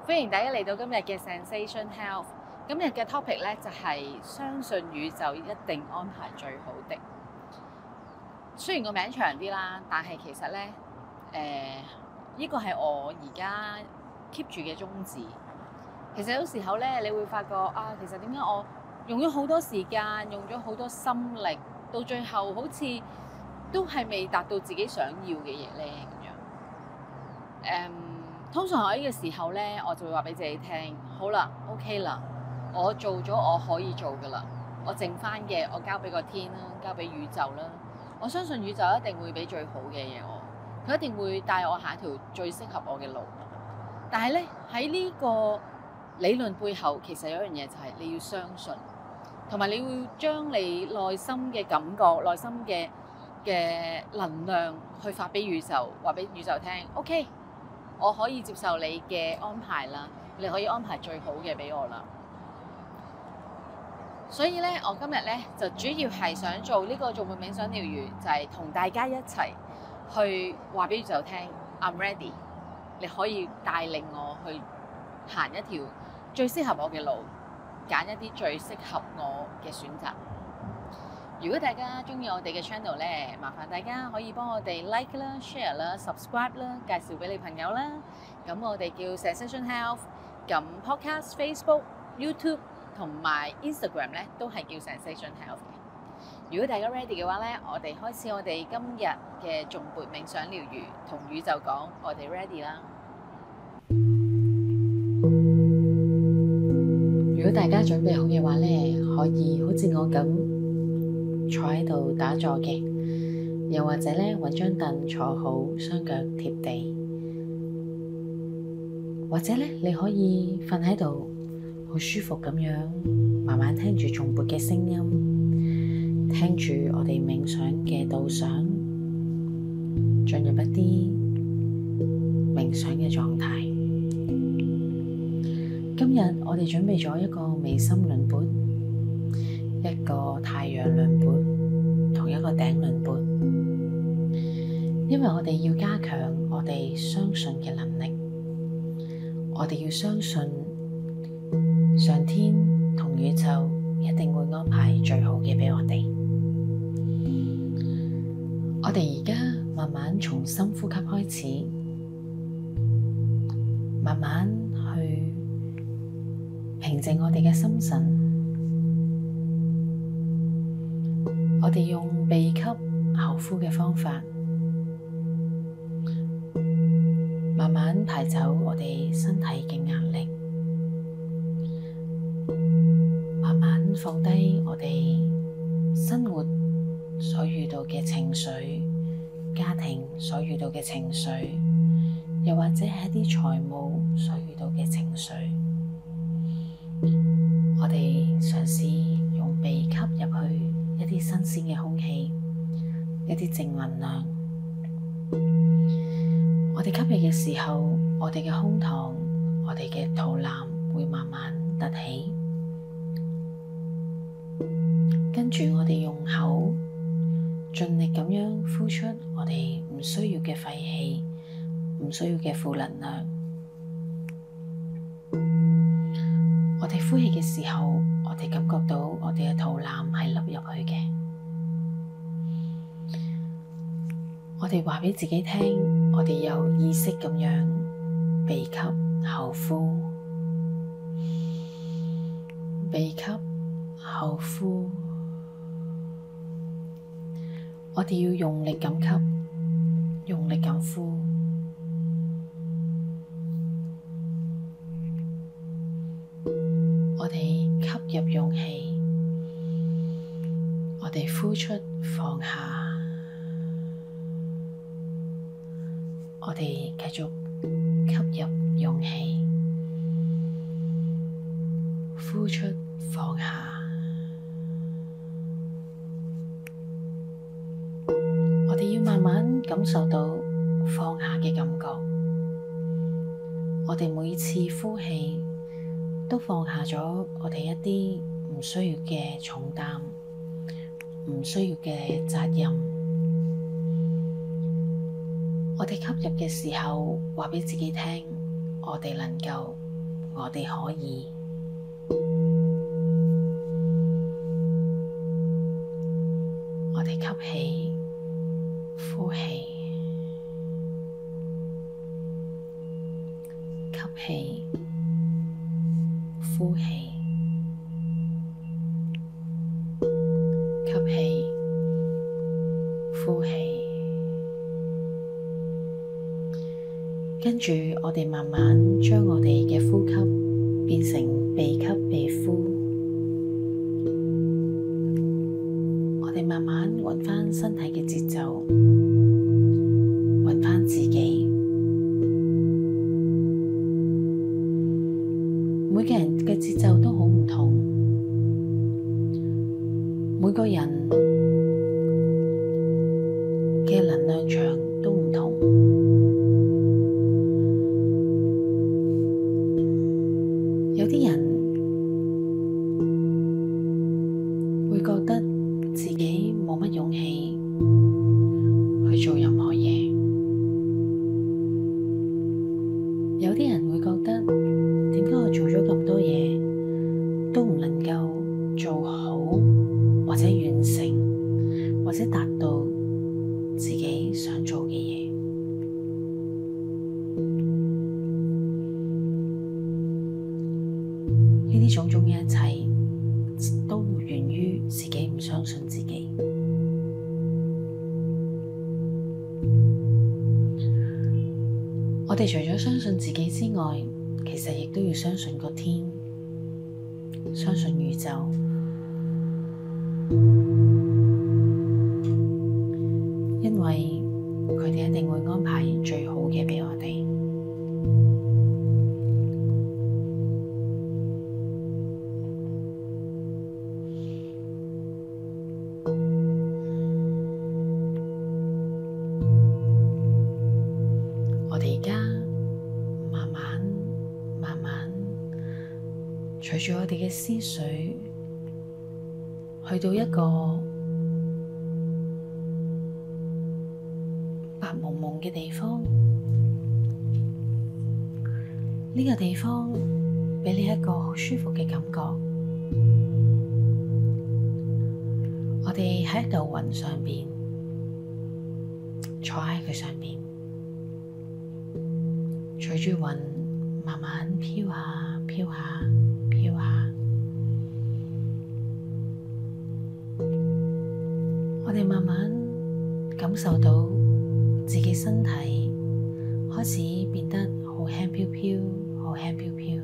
歡迎大家嚟到今日嘅 Zensation Health。今日嘅 topic 咧就係相信宇宙一定安排最好的。雖然個名長啲啦，但係其實咧，呢個係我而家 keep 住嘅宗旨。其實有時候咧，你會發覺啊，其實點解我用咗好多時間，用咗好多心力，到最後好似都係未達到自己想要嘅嘢咧咁樣。通常喺呢個時候咧，我就會話俾自己聽：好啦 ，OK 啦，我做咗我可以做噶啦，我剩翻嘅我交俾個天啦，交俾宇宙啦。我相信宇宙一定會俾最好嘅嘢我，佢一定會帶我下一條最適合我嘅路。但係咧，喺呢個理論背後，其實有一樣嘢就係你要相信，同埋你會將你內心嘅感覺、內心嘅能量去發俾宇宙，話俾宇宙聽 ：OK。我可以接受你嘅安排啦，你可以安排最好嘅俾我啦。所以咧，我今日咧就主要係想做呢個頌缽冥想療癒，就係同大家一齊去話俾宇宙聽 I'm ready， 你可以帶領我去行一條最適合我嘅路，揀一啲最適合我嘅選擇。如果大家中意我哋嘅 channel 咧，麻煩大家可以幫我哋 like 啦、share 啦、subscribe 啦，介紹俾你朋友啦。咁我哋叫 Zensation Health， 咁 podcast、Facebook、YouTube 同埋 Instagram 咧都係叫 Zensation Health 嘅。如果大家 ready 嘅話咧，我哋開始我哋今日嘅頌缽冥想療癒，同宇宙講我哋 ready 啦。如果大家準備好嘅話咧，可以好似我咁坐喺度打坐嘅，又或者咧揾張凳坐好，雙腳貼地，或者咧你可以瞓喺度，好舒服咁樣，慢慢聽住頌缽嘅聲音，聽住我哋冥想嘅導賞，進入一啲冥想嘅狀態。今日我哋準備咗一個眉心輪缽，一個太陽輪缽同一個頂輪缽，因為我哋要加強我哋相信嘅能力，我哋要相信上天同宇宙一定會安排最好嘅畀我哋。我哋而家慢慢從深呼吸開始，慢慢去平靜我哋嘅心神。我哋用鼻吸口呼嘅方法，慢慢排走我哋身體嘅壓力，慢慢放低我哋生活所遇到嘅情緒，家庭所遇到嘅情緒，又或者係一啲財務所遇到嘅情緒。我哋嘗試用鼻吸入去一啲新鮮嘅空氣，一啲正能量。我哋吸氣嘅時候，我哋嘅胸膛、我哋嘅肚腩會慢慢凸起，跟住我哋用口盡力咁樣呼出我哋唔需要嘅廢氣、唔需要嘅負能量。我哋呼氣嘅時候，我哋感覺到我哋嘅肚腩係凹入去嘅。我哋話俾自己聽，我哋有意識咁樣鼻吸口呼，鼻吸口呼。我哋要用力咁吸，用力咁呼。我哋吸入勇氣，我哋呼出放下。我哋繼續吸入勇氣，呼出放下。我哋要慢慢感受到放下嘅感覺。我哋每次呼氣都放下咗我哋一啲唔需要嘅重擔，唔需要嘅責任。我哋吸入嘅時候，話畀自己聽，我哋能夠我哋可以。我哋吸氣，呼氣，吸氣，呼氣，吸氣，呼氣。跟住，我哋慢慢將我哋嘅呼吸變成鼻吸鼻呼。我哋慢慢揾返身體嘅節奏，揾返自己。每個人嘅節奏都好唔同，每個人嘅能量場都唔同。有啲人會覺得自己冇乜勇氣去做任何嘢，有啲人會覺得點解我做咗咁多嘢都唔能夠做好，或者完成，或者達到自己想做嘅嘢。呢啲種種嘅一切都源於自己唔相信自己。我哋除咗相信自己之外，其實亦都要相信個天，相信宇宙，因為佢哋一定會安排最好嘅畀我哋。我哋而家慢慢隨住我哋嘅思緒去到一個白蒙蒙嘅地方，呢個地方畀你一個好舒服嘅感覺。我哋喺一嚿雲上邊，坐喺佢上邊，隨住雲慢慢飄下飄下飄下，我哋慢慢感受到自己身體開始變得好輕飄飄，好輕飄飄，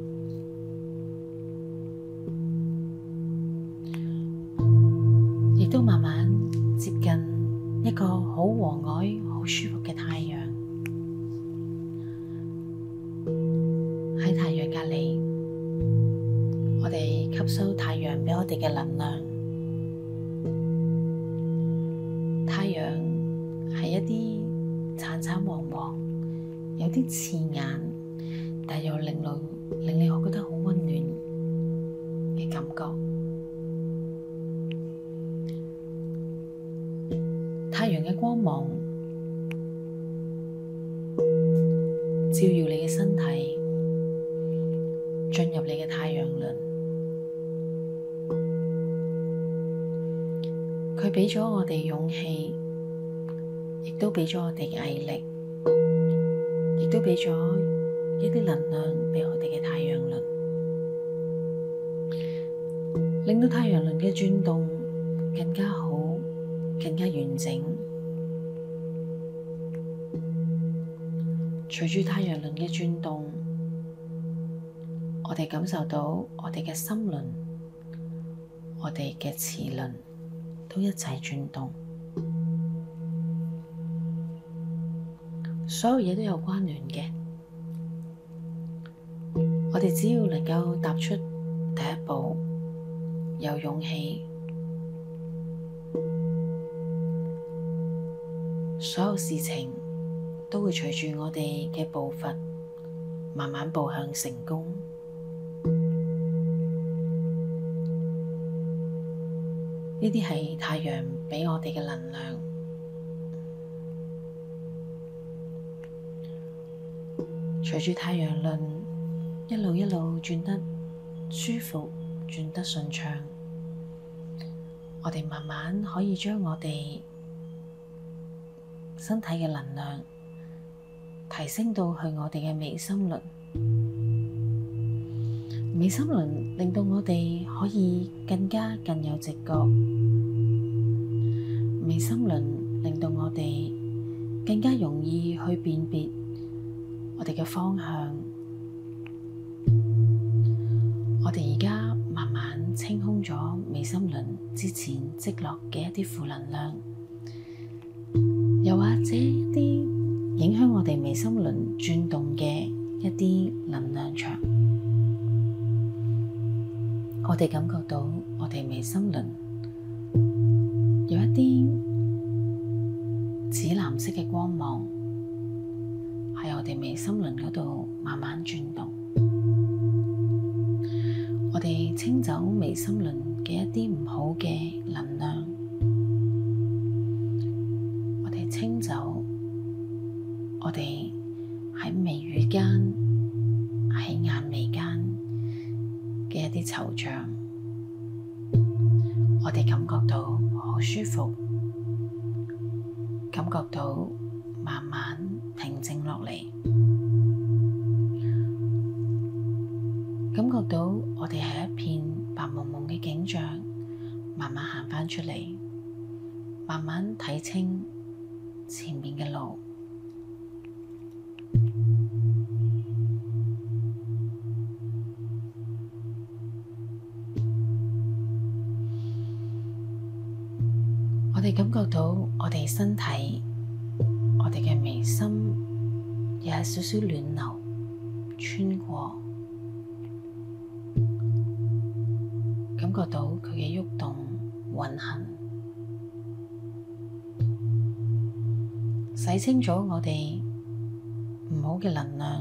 亦都慢慢接近一個好和藹、好舒服嘅太陽。喺太陽隔離，我哋吸收太陽畀我哋嘅能量。太陽係一啲橙橙黃黃，有啲刺眼，但又令你覺得好溫暖嘅感覺。太陽嘅光芒照耀你嘅身體，進入你嘅太陽輪，佢畀咗我哋勇氣，亦都畀咗我哋嘅毅力，亦都畀咗一啲能量畀我哋嘅太陽輪，令到太陽輪嘅轉動更加好，更加完整。隨住太陽輪嘅轉動，我哋感受到我哋嘅心輪、我哋嘅臍輪都一齊轉動，所有嘢都有關聯嘅。我哋只要能夠踏出第一步，有勇氣，所有事情都會隨住我哋嘅步伐慢慢步向成功。呢啲係太陽畀我哋嘅能量。隨住太陽輪一路轉得舒服，轉得順暢，我哋慢慢可以將我哋身體嘅能量提升到去我哋嘅眉心輪。眉心輪令到我哋可以更有直覺，眉心輪令到我哋更加容易去辨別我哋嘅方向。我哋而家慢慢清空咗眉心輪之前積落嘅一啲負能量，又或者一啲影響我哋眉心輪轉動嘅一啲能量場。我哋感覺到我哋眉心輪有一啲紫藍色嘅光芒喺我哋眉心輪嗰度慢慢轉動。我哋清走眉心輪嘅一啲唔好嘅能量，我哋清走我哋喺眉宇間、喺眼眉間嘅一啲惆悵，我哋感覺到好舒服，感覺到慢慢平靜落嚟，感覺到我哋係一片白茫茫嘅景象，慢慢行返出嚟，慢慢睇清前面嘅路。我哋感覺到我哋身體，我哋嘅眉心有少少暖流穿過，感覺到佢嘅喐動、運行，洗清咗我哋唔好嘅能量，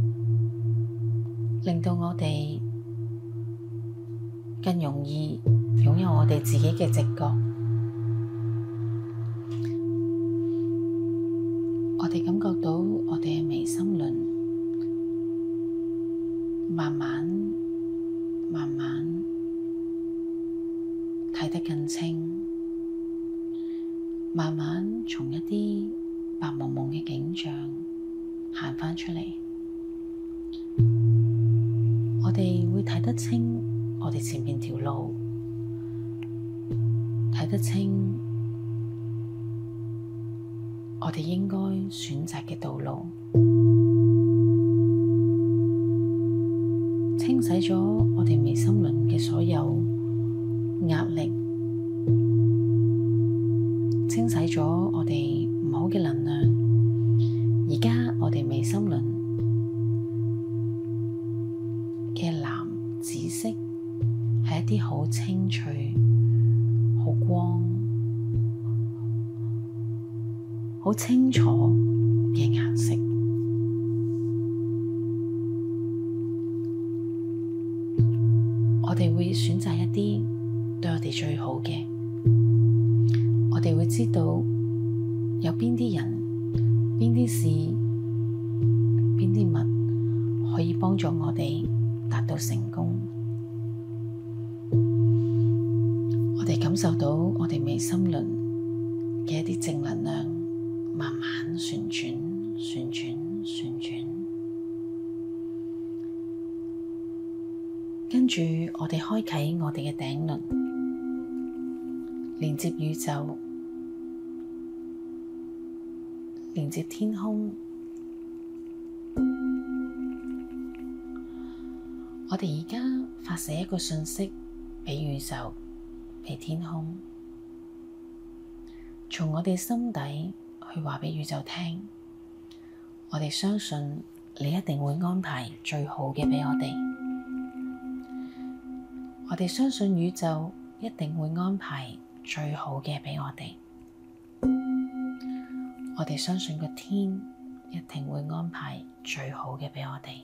令到我哋更容易擁有我哋自己嘅直覺。我哋感覺到我哋嘅眉心輪慢慢睇得更清，慢慢從一啲白茫茫嘅景象行返出嚟。我哋會睇得清我哋前面條路，睇得清我哋應該選擇嘅道路，清洗咗我哋眉心輪嘅所有壓力，清洗咗我哋唔好嘅能量。而家我哋眉心輪嘅藍紫色係一啲好清脆、好光、好清楚嘅顏色。我哋會選擇一啲對我哋最好嘅。我哋會知道有邊啲人、邊啲事、邊啲物可以幫助我哋達到成功。我哋感受到我哋眉心輪嘅一啲正能量慢慢旋轉，跟住我哋開啟我哋嘅頂輪，連接宇宙，連接天空。我哋而家發射一個訊息俾宇宙，俾天空，從我哋心底去話俾宇宙聽，我哋相信你一定會安排最好嘅俾我哋。我哋相信宇宙一定會安排最好嘅俾我哋。我哋相信個天一定會安排最好嘅俾我哋。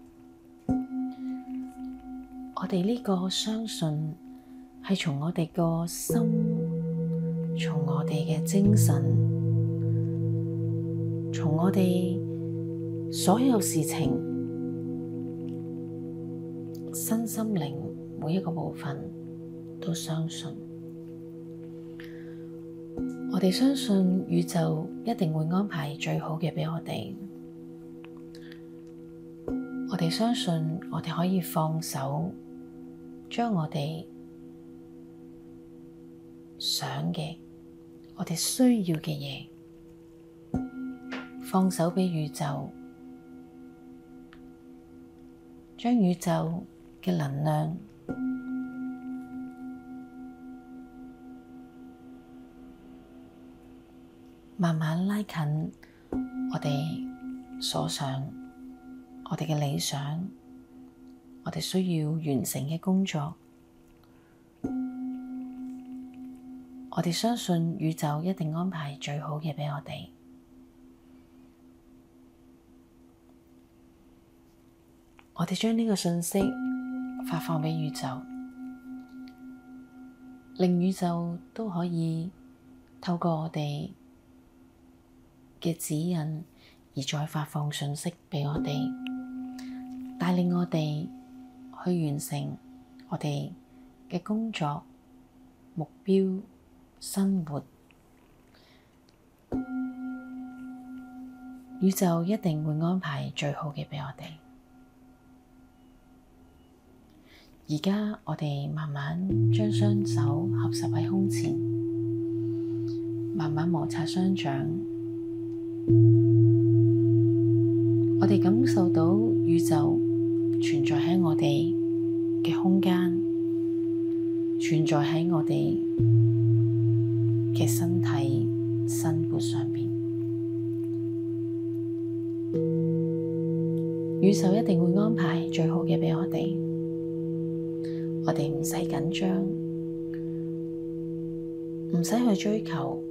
我哋呢個相信係從我哋個心，從我哋嘅精神，從我哋所有事情身心靈每一個部分都相信。我哋相信宇宙一定會安排最好嘅畀我哋。我哋相信我哋可以放手，將我哋想嘅、我哋需要嘅嘢放手畀宇宙，將宇宙嘅能量慢慢拉近我哋所想、我哋嘅理想、我哋需要完成嘅工作。我哋相信宇宙一定安排最好嘅畀我哋。我哋將呢個信息發放畀宇宙，令宇宙都可以透過我哋嘅指引而再發放信息畀我哋，帶領我哋去完成我哋嘅工作、目標、生活。宇宙一定會安排最好嘅畀我哋。而家我哋慢慢將雙手合十喺胸前，慢慢摩擦雙掌。我哋感受到宇宙存在喺我哋嘅空間，存在喺我哋嘅身體生活上面。宇宙一定會安排最好嘅畀我哋。我哋唔使緊張，唔使去追求，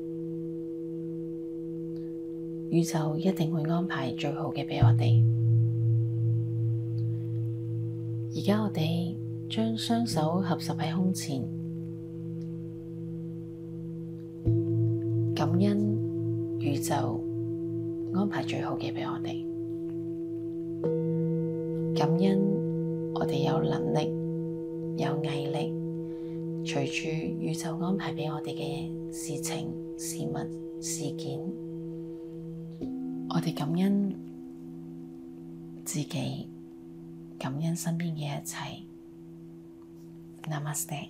宇宙一定會安排最好嘅畀我哋。而家我哋將雙手合十喺胸前，感恩宇宙安排最好嘅畀我哋，感恩我哋有能力，有毅力，隨住宇宙安排畀我哋嘅事情、事物、事件，我哋感恩自己，感恩身邊嘅一切。Namaste。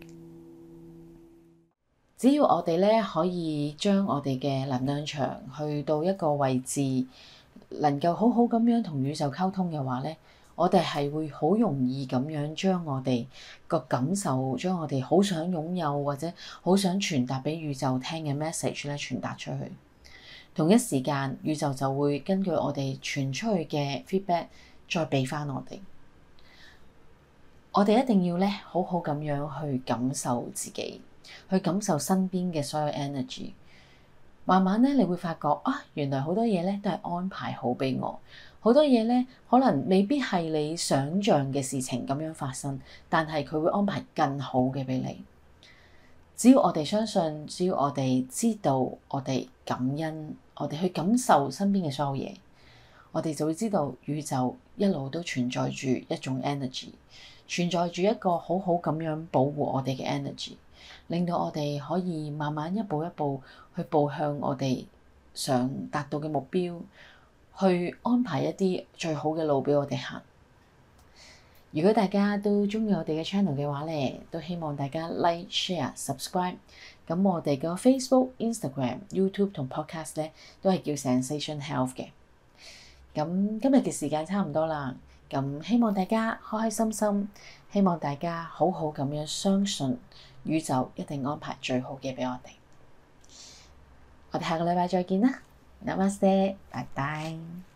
只要我哋咧可以將我哋嘅能量場去到一個位置，能夠好好咁樣同宇宙溝通嘅話咧，我哋係會好容易咁樣將我哋個感受，將我哋好想擁有或者好想傳達畀宇宙聽嘅 message 咧傳達出去。同一時間，宇宙就會根據我哋傳出去嘅 feedback 再畀返我哋。我哋一定要咧好好咁樣去感受自己，去感受身邊嘅所有 energy。慢慢咧，你會發覺啊，原來好多嘢咧都係安排好畀我。好多嘢咧，可能未必係你想像嘅事情咁樣發生，但係佢會安排更好嘅畀你。只要我哋相信，只要我哋知道，我哋感恩，我哋去感受身邊嘅所有嘢，我哋就會知道宇宙一路都存在住一種 energy， 存在住一個好好咁樣保護我哋嘅 energy， 令到我哋可以慢慢一步一步去步向我哋想達到嘅目標。去安排一啲最好嘅路畀我哋行。如果大家都鍾意我哋嘅 channel 嘅話咧，都希望大家 like、share、subscribe。咁我哋個 Facebook、Instagram、YouTube 同 Podcast 咧都係叫 Zensation Health 嘅。咁今日嘅時間差唔多啦，咁希望大家開開心心，希望大家好好咁樣相信宇宙一定安排最好嘅畀我哋。我哋下個禮拜再見啦。Namaste，拜拜。